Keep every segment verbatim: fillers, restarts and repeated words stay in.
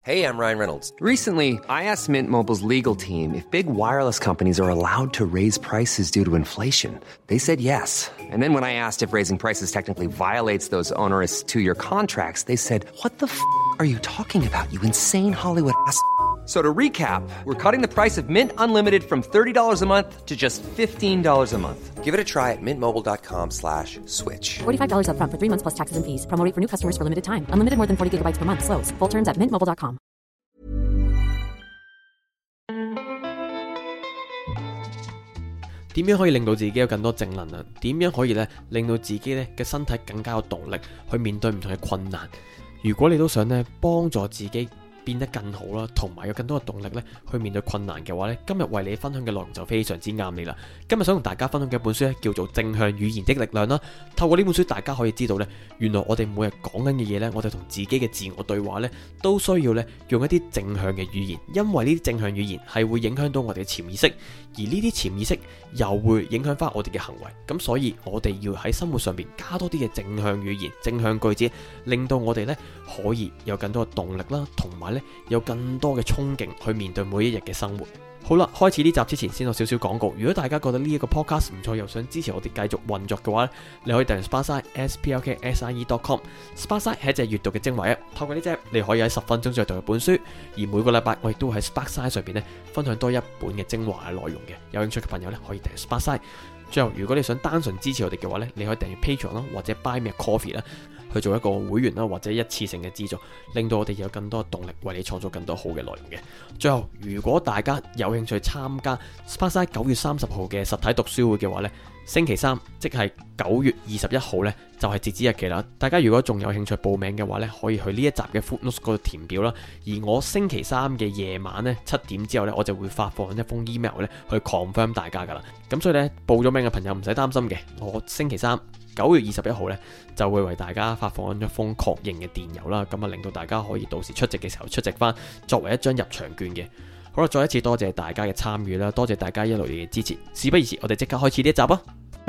Hey, I'm Ryan Reynolds. Recently, I asked Mint Mobile's legal team if big wireless companies are allowed to raise prices due to inflation. They said yes. And then when I asked if raising prices technically violates those onerous two-year contracts, they said, "What the f*** are you talking about, you insane Hollywood ass?" So to recap, we're cutting the price of Mint Unlimited from thirty dollars a month to just fifteen dollars a month. Give it a try at mintmobile.com slash switch. forty-five dollars up front for three months plus taxes and fees. Promo rate for new customers for limited time. Unlimited more than forty gigabytes per month. Slows full terms at mint mobile dot com. 點樣可以令到自己有更多正能量？點樣可以咧令到自己咧嘅身體更加有動力去面對唔同嘅困難？如果你都想咧幫助自己變得更好啦，同埋有更多嘅動力咧去面對困難嘅話咧，今日為你分享嘅內容就非常之啱你啦。今日想同大家分享嘅一本書咧叫做《正向語言的力量》啦。透過呢本書，大家可以知道咧，原來我哋每日講緊嘅嘢咧，我哋同自己嘅自我對話咧，都需要咧用一啲正向嘅語言，因為呢啲正向語言係會影響到我哋嘅潛意識，而呢啲潛意識又會影響翻我哋嘅行為。咁所以我哋要喺生活上邊加多啲嘅正向語言、正向句子，令到我哋咧可以有更多嘅動力啦，同埋有更多嘅衝勁去面對每一日嘅生活。好啦，開始呢集之前先有少少廣告。如果大家覺得呢一個 podcast 唔錯，又想支持我哋繼續運作嘅話，你可以訂閱 Sparkside S P L K S I E dot com。 Sparkside 係一隻閱讀嘅精華 app， 透過呢隻你可以喺十分鐘之內讀一本書，而每個禮拜我亦都會喺 Sparkside 上邊咧分享多一本嘅精華嘅內容嘅。有興趣嘅朋友咧可以訂閱 Sparkside。最後，如果你想單純支持我哋嘅話咧，你可以訂閱 Patreon 啦，或者 Buy Me a Coffee 啦，去做一個會員啦，或者一次性嘅資助，令到我哋有更多動力為你創造更多好嘅內容嘅。最後，如果大家有興趣參加 Sparkside 九月三十號嘅實體讀書會嘅話呢，星期三即係九月二十一號呢，就係截止日期啦。大家如果仲有興趣報名嘅話呢，可以去呢一集嘅 Footnotes 嗰度填表啦。而我星期三嘅夜晚呢，七點之後呢，我就會發放一封 email 呢去 confirm 大家噶啦。咁所以呢，報咗名嘅朋友唔使擔心嘅，我星期三九月二十一號呢，就會為大家發放一封確認嘅電郵啦，咁啊令到大家可以到時出席嘅時候出席翻，作為一張入場券嘅。好啦，再一次多謝大家嘅參與啦，多謝大家一路嘅支持。事不宜遲，我哋即刻開始呢一集啊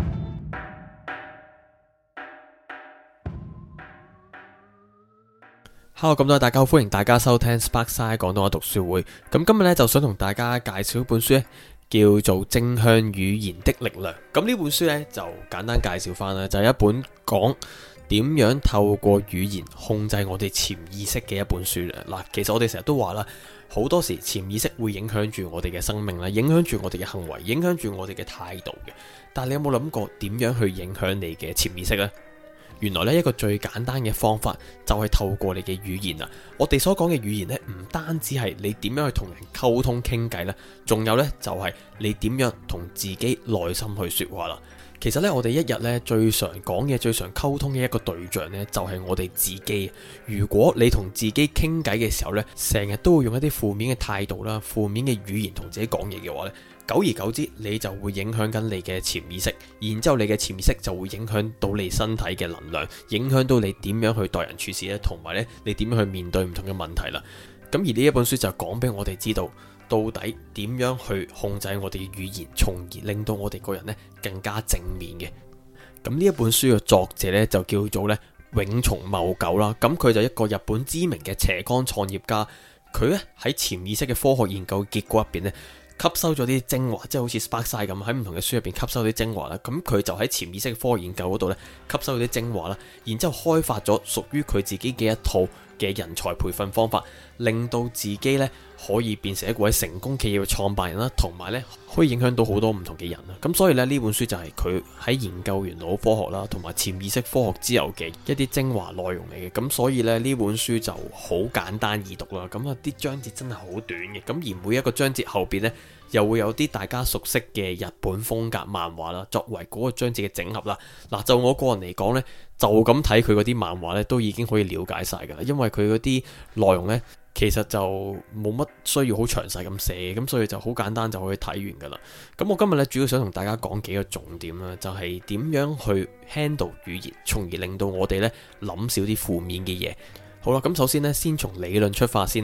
！Hello， 咁多位大家好，歡迎大家收聽 Sparkside 廣東話讀書會。咁今日呢，就想同大家介紹一本書呢，叫做《正向語言的力量》。咁呢本書呢，就簡單介紹翻啦，就係一本講點樣透過語言控制我哋潛意識嘅一本書啦。嗱，其實我哋成日都話啦，好多時潛意識會影響住我哋嘅生命啦，影響住我哋嘅行為，影響住我哋嘅態度嘅。但係你有冇諗過點樣去影響你嘅潛意識呢？原來呢一個最簡單嘅方法就係透過你嘅語言啦。我哋所講嘅語言呢，唔單止係你點樣去同人溝通傾偈啦，仲有呢就係你點樣同自己內心去說話啦。其實呢，我哋一日呢最常講嘅、最常溝通嘅一個對象呢，就係我哋自己。如果你同自己傾偈嘅時候呢，成日都會用一啲負面嘅態度啦、負面嘅語言同自己講嘢嘅話呢，久而久之，你就會影響緊你嘅潛意識，然之後你嘅潛意識就會影響到你身體嘅能量，影響到你點樣去待人處事咧，同埋咧你點樣去面對唔同嘅問題啦。咁而呢一本書就講俾我哋知道，到底點樣去控制我哋嘅語言，從而令到我哋個人咧更加正面嘅。咁呢一本書嘅作者咧就叫做咧永松茂久啦。咁佢就一個日本知名嘅斜槓創業家，佢咧喺潛意識嘅科學研究結果入邊咧，吸收咗啲精華，即係好似 Sparkside 咁喺唔同嘅書入邊吸收啲精華啦。咁佢就喺潛意識科學研究嗰度咧吸收咗啲精華啦，然之後開發咗屬於佢自己嘅一套嘅人才培訓方法，令到自己咧可以變成一位成功企業嘅創辦人啦，同埋咧可以影響到好多唔同嘅人啦。咁所以咧呢本書就係佢喺研究完腦科學啦，同埋潛意識科學之後嘅一啲精華內容嚟嘅。咁所以咧呢本書就好簡單易讀啦。咁啊啲章節真係好短嘅。咁而每一個章節後邊咧又會有啲大家熟悉嘅日本風格漫畫啦，作為嗰個章節嘅整合啦。嗱，就我個人嚟講呢，就咁睇佢嗰啲漫畫呢，都已經可以了解晒噶啦。因為佢嗰啲內容呢，其實就冇乜需要好詳細咁寫，咁所以就好簡單就可以睇完噶啦。咁我今日呢，主要想同大家講幾個重點啦，就係點樣去 handle 語言，從而令到我哋呢諗少啲負面嘅嘢。好啦，咁首先呢，先從理論出發先啦。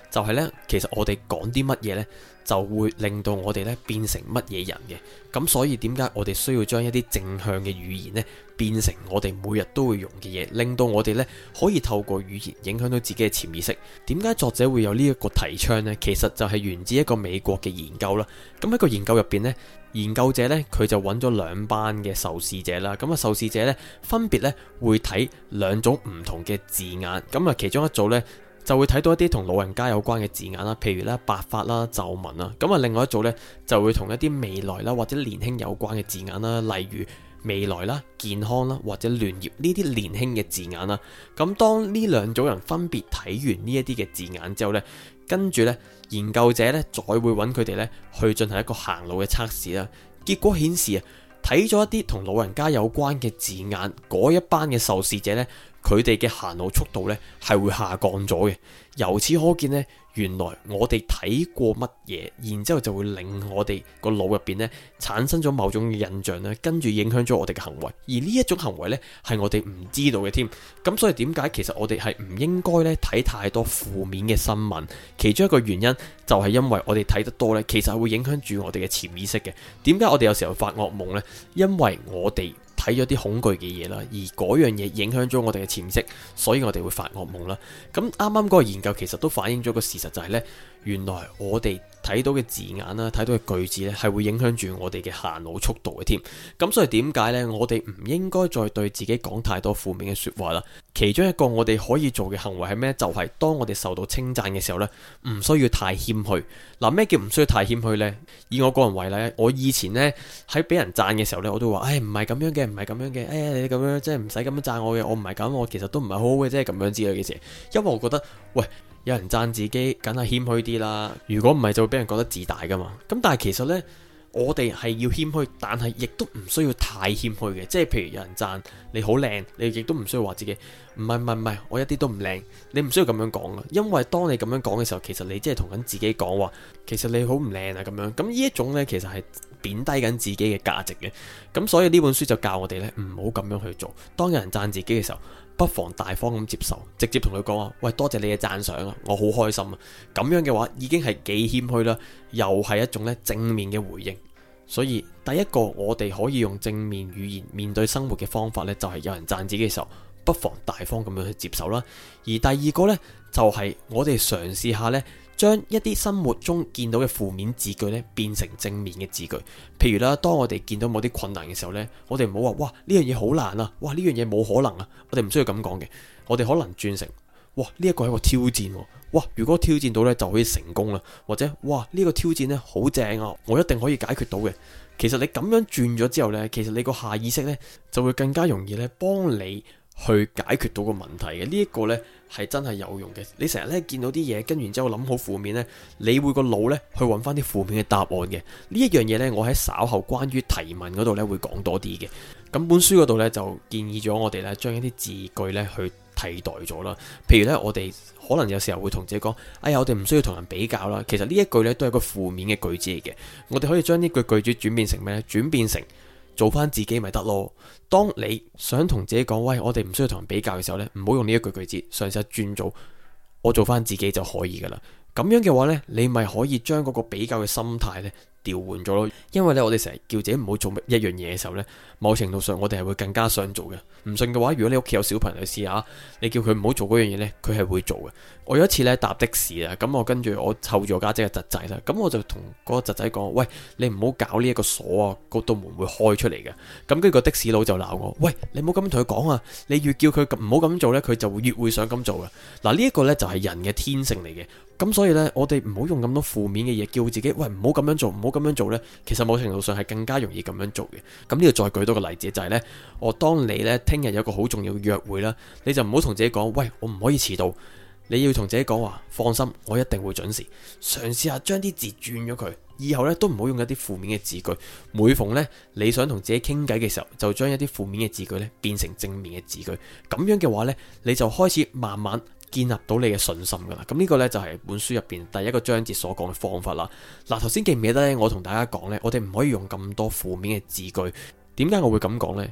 就係呢，其實我哋講啲乜嘢呢，就會令到我哋呢變成乜嘢人嘅。咁所以點解我哋需要將一啲正向嘅語言呢變成我哋每日都會用嘅嘢，令到我哋呢可以透過語言影響到自己嘅潛意識。點解作者會有呢一個提倡呢？其實就係源自一個美國嘅研究啦。咁喺個研究入邊呢，研究者呢，佢就揾咗兩班嘅受試者啦。咁啊，受試者呢，分別呢會睇兩種唔同嘅字眼。咁啊，其中一組呢，就會睇到一啲同老人家有關嘅字眼啦，譬如咧白髮啦、皺紋啦。咁啊，另外一組呢，就會同一啲未來啦或者年輕有關嘅字眼啦，例如未來啦、健康啦或者聯業呢啲年輕嘅字眼啦。咁當呢兩組人分別睇完呢一啲嘅字眼之後呢，跟住呢，研究者呢，再會揾佢哋呢去進行一個行路嘅測試啦。結果顯示啊，睇咗一啲同老人家有關嘅字眼嗰一班嘅受試者呢，佢哋嘅行路速度呢係會下降咗嘅。由此可見呢，原來我哋睇過乜嘢，然之後就會令我哋個腦入邊呢產生咗某種嘅印象呢，跟住影響咗我哋嘅行為。而呢一種行為呢，係我哋唔知道嘅添。咁所以點解其實我哋係唔應該呢睇太多負面嘅新聞？其中一個原因就係因為我哋睇得多呢，其實係會影響住我哋嘅潛意識嘅。點解我哋有時候發噩夢呢？因為我哋睇咗啲恐懼嘅嘢啦，而嗰樣嘢影響咗我哋嘅潛意識，所以我哋會發噩夢啦。咁啱啱嗰個研究其實都反映咗個事實，就係呢：原來我哋睇到嘅字眼啦，睇到嘅句子呢，係會影響住我哋嘅行路速度嘅添。咁所以點解呢？我哋唔應該再對自己講太多負面嘅說話啦。其中一個我哋可以做嘅行為係咩？就係當我哋受到稱讚嘅時候呢，唔需要太謙虛。嗱，咩叫唔需要太謙虛呢？以我個人為例，我以前呢，喺俾人讚嘅時候呢，我都話：唉，唔係咁樣嘅，唔係咁樣嘅。哎呀，你咁樣即係唔使咁樣讚我嘅，我唔係咁，我其實都唔係好好嘅，即係咁樣之類嘅事。因為我覺得，喂，有人讚自己，梗係謙虛啲啦。如果唔係，就會俾人覺得自大噶嘛。咁但係其實呢，我哋係要謙虛，但係亦都唔需要太謙虛嘅。即係譬如有人讚你好靚，你亦都唔需要話自己唔係唔係唔係，我一啲都唔靚。你唔需要咁樣講噶，因為當你咁樣講嘅時候，其實你即係同緊自己講話，其實你好唔靚啊咁樣。咁呢一種呢，其實係貶低緊自己嘅價值嘅。咁所以呢本書就教我哋呢，唔好咁樣去做。當有人讚自己嘅時候，不妨大方咁接受，直接同佢講話：喂，多謝你嘅讚賞啊，我好開心啊。咁樣嘅話已經係幾謙虛啦，又係一種咧正面嘅回應。所以第一個我哋可以用正面語言面對生活嘅方法呢，就係有人讚自己嘅時候，不妨大方咁樣去接受啦。而第二個呢，就係我哋嘗試下呢，將一啲生活中見到嘅負面字句呢，變成正面嘅字句。譬如啦，當我哋見到某啲困難嘅時候呢，我哋唔好話：哇，呢樣嘢好難啊，哇，呢樣嘢冇可能啊。我哋唔需要咁講嘅，我哋可能轉成：哇，呢一個係一個挑戰喎，哇，如果挑戰到呢，就可以成功啦。或者哇，呢個挑戰呢，好正啊，我一定可以解決到嘅。其實你咁樣轉咗之後呢，其實你個下意識呢，就會更加容易呢幫你去解決到個問題嘅。呢一個呢係真係有用嘅。你成日呢見到啲嘢，跟完之後諗好負面呢，你會個腦呢去揾翻啲負面嘅答案嘅。呢一樣嘢呢，我喺稍後關於提問嗰度呢會講多啲嘅。咁本書嗰度呢，就建議咗我哋呢將一啲字句呢去替代咗啦。譬如呢，我哋可能有時候會同自己講：哎呀，我哋唔需要同人比較啦。其實呢一句呢都係個負面嘅句子嚟嘅。我哋可以將呢句句子轉變成咩呢？轉變成做翻自己咪得咯。當你想同自己講：喂，我哋唔需要同人比較嘅時候呢，唔好用呢一句句子，嘗試轉做我做翻自己就可以噶啦。咁樣嘅話呢，你咪可以將嗰個比較嘅心態呢調換咗咯。因為呢，我哋成日叫自己唔好做一樣嘢嘅時候呢，某程度上我哋係會更加想做嘅。唔信嘅話，如果你屋企有小朋友試下，你叫佢唔好做嗰樣嘢呢，佢係會做嘅。我有一次呢搭的士啊，咁我跟住我湊住我家姐嘅侄仔啦，咁我就同嗰個侄仔講：喂，你唔好搞呢一個鎖啊，嗰道門會開出嚟嘅。咁跟住個的士佬就鬧我：喂，你唔好咁樣同佢講啊！你越叫佢唔好咁做呢，佢就會越會想咁做嘅。嗱，呢一個呢就係人嘅天性嚟嘅。咁所以呢，我哋唔好用咁多負面嘅嘢叫自己：喂，唔好咁樣做，唔好咁樣做呢。其實某程度上係更加容易咁樣做嘅。咁呢度再舉多個例子，就係呢：我當你呢聽日有個好重要嘅約會啦，你就唔好同自己講：喂，我唔可以遲到。你要同自己講話：放心，我一定會準時。嘗試下將啲字轉咗佢，以後呢都唔好用一啲負面嘅字句。每逢呢你想同自己傾偈嘅時候，就將一啲負面嘅字句呢變成正面嘅字句。咁樣嘅話呢，你就開始慢慢建立到你嘅信心噶啦。咁呢個呢，就係本書入邊第一個章節所講嘅方法啦。嗱，頭先記唔記得呢？我同大家講呢，我哋唔可以用咁多負面嘅字句。點解我會咁講呢？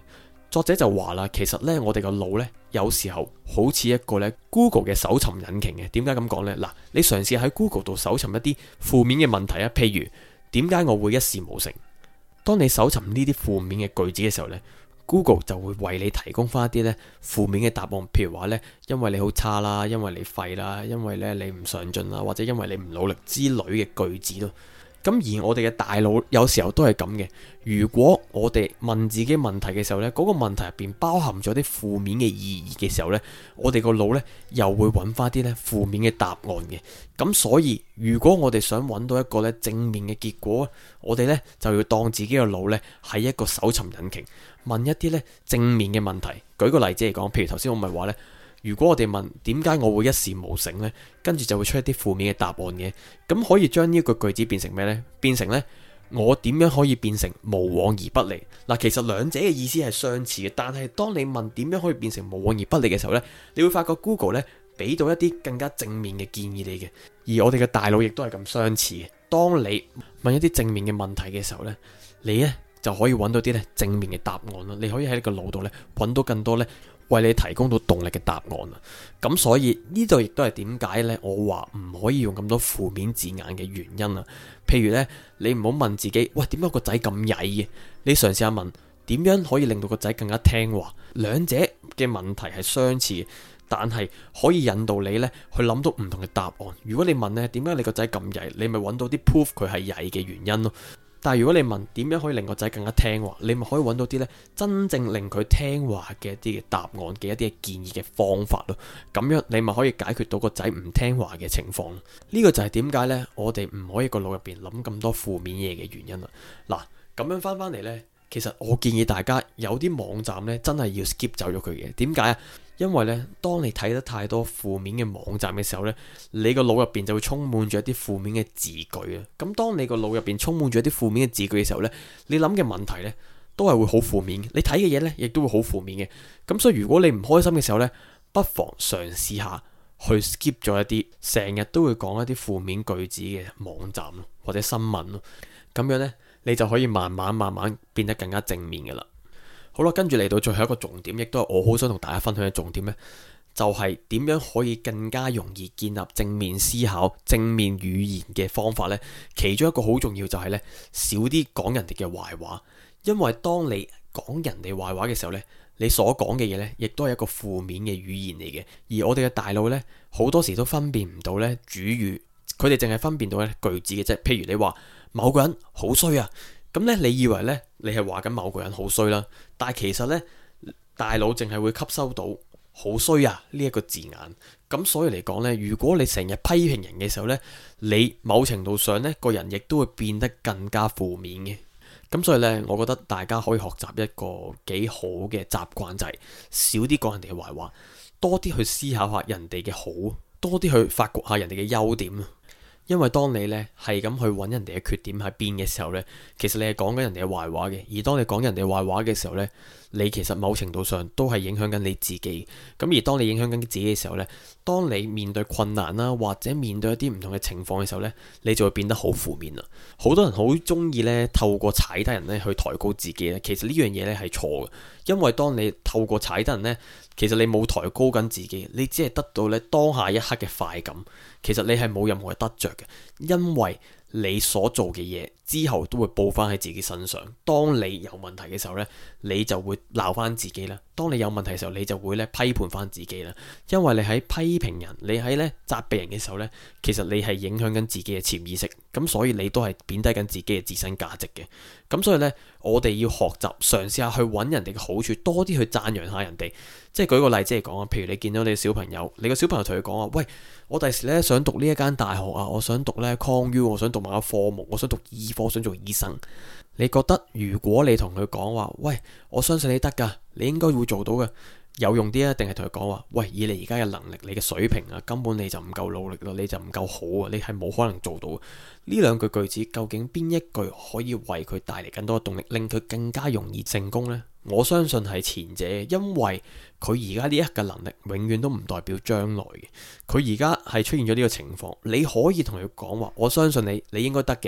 作者就話啦，其實呢，我哋個腦呢，有時候好似一個呢 Google 嘅搜尋引擎嘅。點解咁講呢？嗱，你嘗試喺 Google 度搜尋一啲負面嘅問題啊，譬如點解我會一事無成？當你搜尋呢啲負面嘅句子嘅時候呢，Google 就會為你提供翻一啲呢負面嘅答案，譬如話呢，因為你好差啦，因為你廢啦，因為呢你唔上進啦，或者因為你唔努力之類嘅句子咯。咁而我哋嘅大腦有時候都係咁嘅。如果我哋問自己問題嘅時候呢，嗰個問題入邊包含咗啲負面嘅意義嘅時候呢，我哋個腦呢又會揾翻啲呢負面嘅答案嘅。咁所以如果我哋想揾到一個呢正面嘅結果，我哋呢就要當自己個腦呢係一個搜尋引擎，問一啲呢正面嘅問題。舉個例子嚟講，譬如頭先我咪話呢，如果我哋問點解我會一事無成呢，跟住就會出一啲負面嘅答案嘅。咁可以將呢個句子變成咩呢？變成呢，我點樣可以變成無往而不利？嗱，其實兩者嘅意思係相似嘅，但係當你問點樣可以變成無往而不利嘅時候呢，你會發覺 Google 呢俾到一啲更加正面嘅建議你嘅。而我哋嘅大腦亦都係咁相似嘅。當你問一啲正面嘅問題嘅時候呢，你呢就可以揾到啲呢正面嘅答案啦。你可以喺你個腦度呢揾到更多呢為你提供到動力嘅答案啊！咁所以呢度亦都係點解呢？我話唔可以用咁多負面字眼嘅原因啊！譬如呢，你唔好問自己，喂，點解個仔咁曳嘅？你嘗試下問，點樣可以令到個仔更加聽話？兩者嘅問題係相似，但係可以引導你呢去諗到唔同嘅答案。如果你問呢，點解你個仔咁曳？你咪揾到啲 proof 佢係曳嘅原因咯。但係如果你問點樣可以令個仔更加聽話，你咪可以揾到啲呢真正令佢聽話嘅一啲嘅答案嘅一啲嘅建議嘅方法咯。咁樣你咪可以解決到個仔唔聽話嘅情況。呢個就係點解呢？我哋唔可以個腦入邊諗咁多負面嘢嘅原因啦。嗱，咁樣翻翻嚟呢，其實我建議大家有啲網站呢真係要 skip 走咗佢嘅。點解啊？因為咧，當你睇得太多負面嘅網站嘅時候咧，你個腦入邊就會充滿住一啲負面嘅字句啊。咁當你個腦入邊充滿住一啲負面嘅字句嘅時候咧，你諗嘅問題咧都係會好負面嘅，你睇嘅嘢咧亦都會好負面嘅。咁所以如果你唔開心嘅時候咧，不妨嘗試下去 skip 咗一啲成日都會講一啲負面句子嘅網站咯，或者新聞咯。咁樣咧，你就可以慢慢慢慢變得更加正面嘅啦。好啦，跟住嚟到最後一個重點，亦都係我好想同大家分享嘅重點呢，就係點樣可以更加容易建立正面思考、正面語言嘅方法呢？其中一個好重要就係呢：少啲講人哋嘅壞話，因為當你講人哋壞話嘅時候呢，你所講嘅嘢呢，亦都係一個負面嘅語言嚟嘅。而我哋嘅大腦呢，好多時都分辨唔到呢主語，佢哋淨係分辨到呢句子嘅啫。譬如你話某個人好衰啊。咁咧，你以為咧，你係話緊某個人好衰啦，但係其實咧，大腦淨係會吸收到好衰啊呢一個字眼。咁所以嚟講咧，如果你成日批評人嘅時候咧，你某程度上咧，個人亦都會變得更加負面嘅。咁所以咧，我覺得大家可以學習一個幾好嘅習慣，就係少啲講人哋嘅壞話，多啲去思考下人哋嘅好，多啲去發掘下人哋嘅優點。因為當你咧係咁去揾人哋嘅缺點喺邊嘅時候呢，其實你係講緊人哋嘅壞話嘅。而當你講人哋壞話嘅時候呢，你其實某程度上都係影響緊你自己。咁而當你影響緊自己嘅時候呢，當你面對困難啦，或者面對一啲唔同嘅情況嘅時候呢，你就會變得好負面啦。好多人好中意呢透過踩低人呢去抬高自己咧，其實呢樣嘢呢係錯嘅。因為當你透過踩低人呢，其實你冇抬高緊自己，你只係得到咧當下一刻嘅快感。其實你係冇任何嘅得着嘅，因為你所做嘅嘢之後都會報翻喺自己身上。當你有問題嘅時候呢，你就會鬧翻自己啦。當你有問題嘅時候，你就會咧批判翻自己啦。因為你喺批評人，你喺咧責備人嘅時候呢，其實你係影響緊自己嘅潛意識，咁所以你都係貶低緊自己嘅自身價值嘅。咁所以呢，我哋要學習嘗試下去揾人哋嘅好處，多啲去讚揚下人哋。即係舉個例子嚟講啊，譬如你見到你小朋友，你個小朋友同佢講話，喂，我第時咧想讀呢一間大學啊，我想讀咧 Con U， 我想讀某個科目，我想讀醫科，想做醫生。你覺得如果你同佢講話，喂，我相信你得噶，你應該會做到嘅，有用啲啊？定係同佢講話，喂，以你而家嘅能力，你嘅水平啊，根本你就唔夠努力咯，你就唔夠好啊，你係冇可能做到。呢兩句句子究竟邊一句可以為佢帶嚟更多嘅動力，令佢更加容易成功呢？我相信係前者，因為佢而家呢一刻嘅能力永遠都唔代表將來嘅。佢而家係出現咗呢個情況，你可以同佢講話，我相信你，你應該得嘅。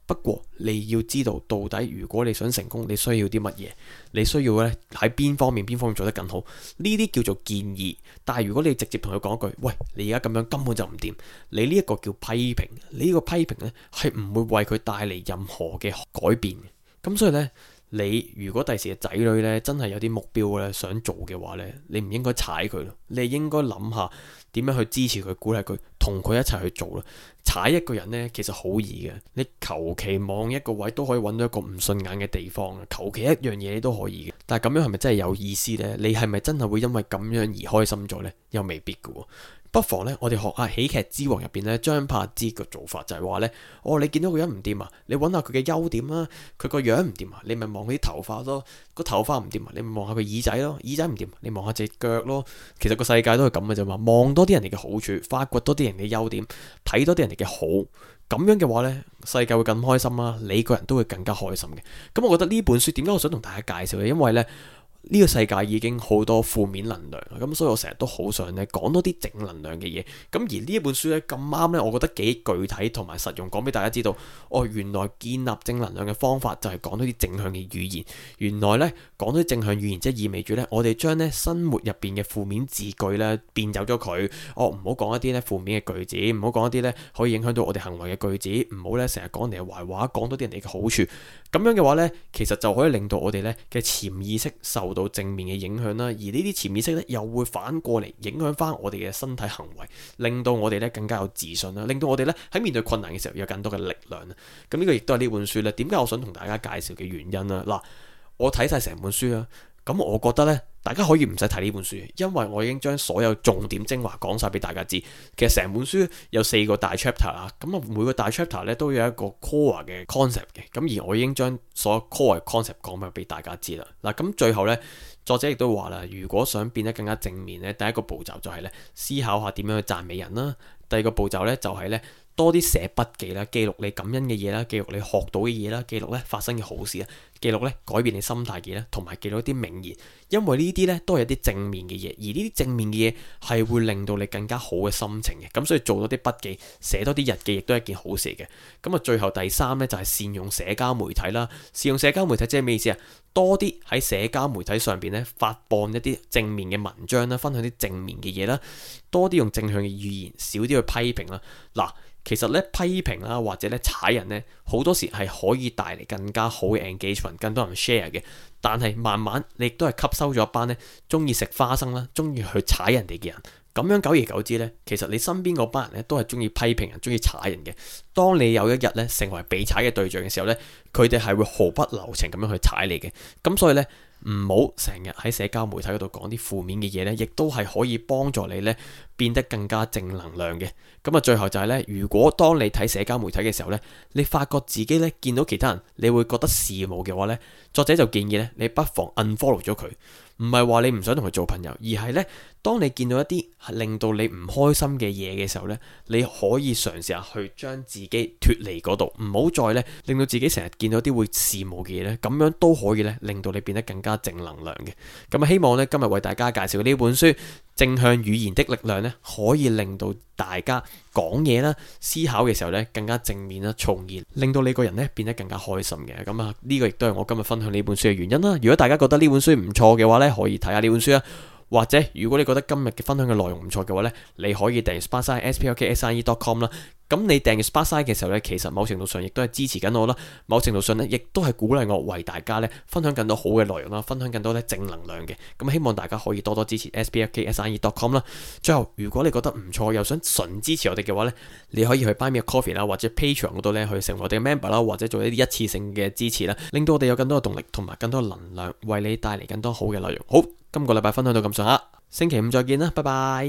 不過你要知道到底如果你想成功，你需要啲乜嘢，你需要咧喺邊方面邊方面做得更好，呢啲叫做建議。但係如果你直接同佢講一句，喂，你而家咁樣根本就唔掂，你呢一個叫批評，你呢個批評咧係唔會為佢帶嚟任何嘅改變嘅。咁所以咧，你如果第時嘅仔女咧真係有啲目標咧想做嘅話咧，你唔應該踩佢咯，你應該諗下點樣去支持佢、鼓勵佢，同佢一齊去做咯。踩一個人呢，其實好易嘅，你求其望一個位都可以揾到一個唔順眼嘅地方，求其一樣嘢你都可以嘅。但係咁樣係咪真係有意思呢？你係咪真係會因為咁樣而開心咗呢？又未必嘅喎。不妨咧，我哋學下喜劇之王入邊咧，張柏芝嘅做法就係話咧，哦，你見到個人唔掂啊，你揾下佢嘅優點啦，佢個樣唔掂啊，你咪望佢啲頭髮咯，個頭髮唔掂啊，你咪望下佢耳仔咯，耳仔唔掂，你望下隻腳咯。其實個世界都係咁嘅啫嘛，望多啲人哋嘅好處，發掘多啲人嘅優點，睇多啲人哋嘅好，咁樣嘅話呢，世界會更開心啦，你個人都會更加開心嘅。咁我覺得呢本書點解我想同大家介紹呢？因為呢。呢個世界已經好多負面能量，咁所以我成日都好想咧講多啲正能量嘅嘢。咁而呢一本書咧咁啱咧，我覺得幾具體同埋實用，講俾大家知道，哦，原來建立正能量嘅方法就係講多啲正向嘅語言。原來咧講多啲正向語言，即係意味住咧，我哋將咧生活入邊嘅負面字句咧變走咗佢。哦，唔好講一啲咧負面嘅句子，唔好講一啲咧可以影響到我哋行為嘅句子，唔好咧成日講人哋嘅壞話，講多啲人哋嘅好處。咁樣嘅話咧，其實就可以令到我哋咧嘅潛意識受到正面嘅影響啦，而呢啲潛意識咧又會反過嚟影響翻我哋嘅身體行為，令到我哋咧更加有自信啦，令到我哋咧喺面對困難嘅時候有更多嘅力量啦。咁呢個亦都係呢本書咧，點解我想同大家介紹嘅原因啦。嗱，我睇晒成本書啦，咁我覺得咧，大家可以唔使睇呢本書，因為我已經將所有重點精華講晒俾大家知。其實成本書有四個大 chapter 啦，咁啊每個大 chapter 咧都有一個 core 嘅 concept 嘅，咁而我已經將所有 core 嘅 concept 講埋俾大家知啦。嗱，咁最後咧，作者亦都話啦，如果想變得更加正面咧，第一個步驟就係咧思考下點樣去讚美人啦，第二個步驟咧就係咧多啲寫筆記啦，記錄你感恩嘅嘢啦，記錄你學到嘅嘢啦，記錄咧發生嘅好事啦，記錄咧改變你心態嘅嘢，同埋記錄一啲名言，因為呢啲咧都係一啲正面嘅嘢，而呢啲正面嘅嘢係會令到你更加好嘅心情嘅，咁所以做多啲筆記，寫多啲日記亦都係一件好事嘅。咁啊，最後第三咧就係善用社交媒體啦，善用社交媒體即係咩意思啊？多啲喺社交媒體上邊咧發佈一啲正面嘅文章啦，分享啲正面嘅嘢啦，多啲用正向嘅語言，少啲去批評啦。嗱，其實咧批評啦或者咧踩人咧，好多時係可以帶嚟更加好嘅 engagement， 更多人 share 嘅。但係慢慢你亦都係吸收咗一班咧中意食花生啦，中意去踩人哋嘅人。咁樣久而久之呢，其實你身邊嗰班人咧都係中意批評人、中意踩人嘅。當你有一日咧成為被踩嘅對象嘅時候呢，佢哋係會毫不留情咁樣去踩你嘅。咁所以呢，唔好成日喺社交媒體嗰度講啲負面嘅嘢呢，亦都係可以幫助你呢變得更加正能量嘅。咁啊，最後就係呢：如果當你睇社交媒體嘅時候呢，你發覺自己呢見到其他人，你會覺得羨慕嘅話呢，作者就建議呢，你不妨 unfollow 咗佢。唔係話你唔想同佢做朋友，而係呢，當你見到一啲令到你唔開心嘅嘢嘅時候呢，你可以嘗試下去將自己脫離嗰度，唔好再呢令到自己成日見到啲會羨慕嘅嘢呢，咁樣都可以呢令到你變得更加正能量嘅。咁啊，希望呢今日為大家介紹呢本書《正向語言的力量》呢，可以令到大家講嘢啦、思考嘅時候呢更加正面啦，從而令到你個人呢變得更加開心嘅。咁啊，呢個亦都係我今日分享呢本書嘅原因啦。如果大家覺得呢本書唔錯嘅話呢，可以睇下呢本書啊。或者如果你覺得今日嘅分享嘅內容唔錯嘅話呢，你可以訂閱 Sparkside S P A R K S I E dot com 啦。咁你訂閱 Sparkside 嘅時候呢，其實某程度上亦都係支持緊我啦，某程度上呢，亦都係鼓勵我為大家呢分享更多好嘅內容啦，分享更多呢正能量嘅。咁希望大家可以多多支持 S P A R K S I E dot com 啦。最後，如果你覺得唔錯，又想純支持我哋嘅話呢，你可以去 Buy Me a Coffee 啦，或者 Patreon 嗰度呢去成為我哋嘅 member 啦，或者做一啲一次性嘅支持啦，令到我哋有更多嘅動力同埋更多能量，為你帶嚟更多好嘅內容。好，今個禮拜分享到咁上下。星期五再見啦，拜拜。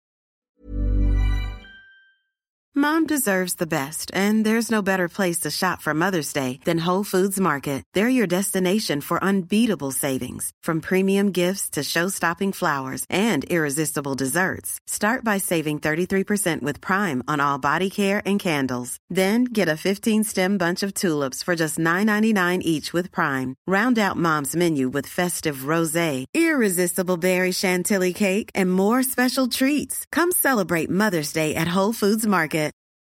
Mom deserves the best, and there's no better place to shop for Mother's Day than Whole Foods Market. They're your destination for unbeatable savings, from premium gifts to show-stopping flowers and irresistible desserts. Start by saving thirty-three percent with Prime on all body care and candles. Then get a fifteen-stem bunch of tulips for just nine ninety-nine each with Prime. Round out Mom's menu with festive rosé, irresistible berry chantilly cake, and more special treats. Come celebrate Mother's Day at Whole Foods Market.